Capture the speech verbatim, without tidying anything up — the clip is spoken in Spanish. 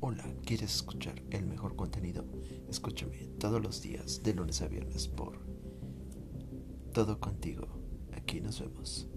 Hola, ¿quieres escuchar el mejor contenido? Escúchame todos los días, de lunes a viernes, por Todo Contigo. Aquí nos vemos.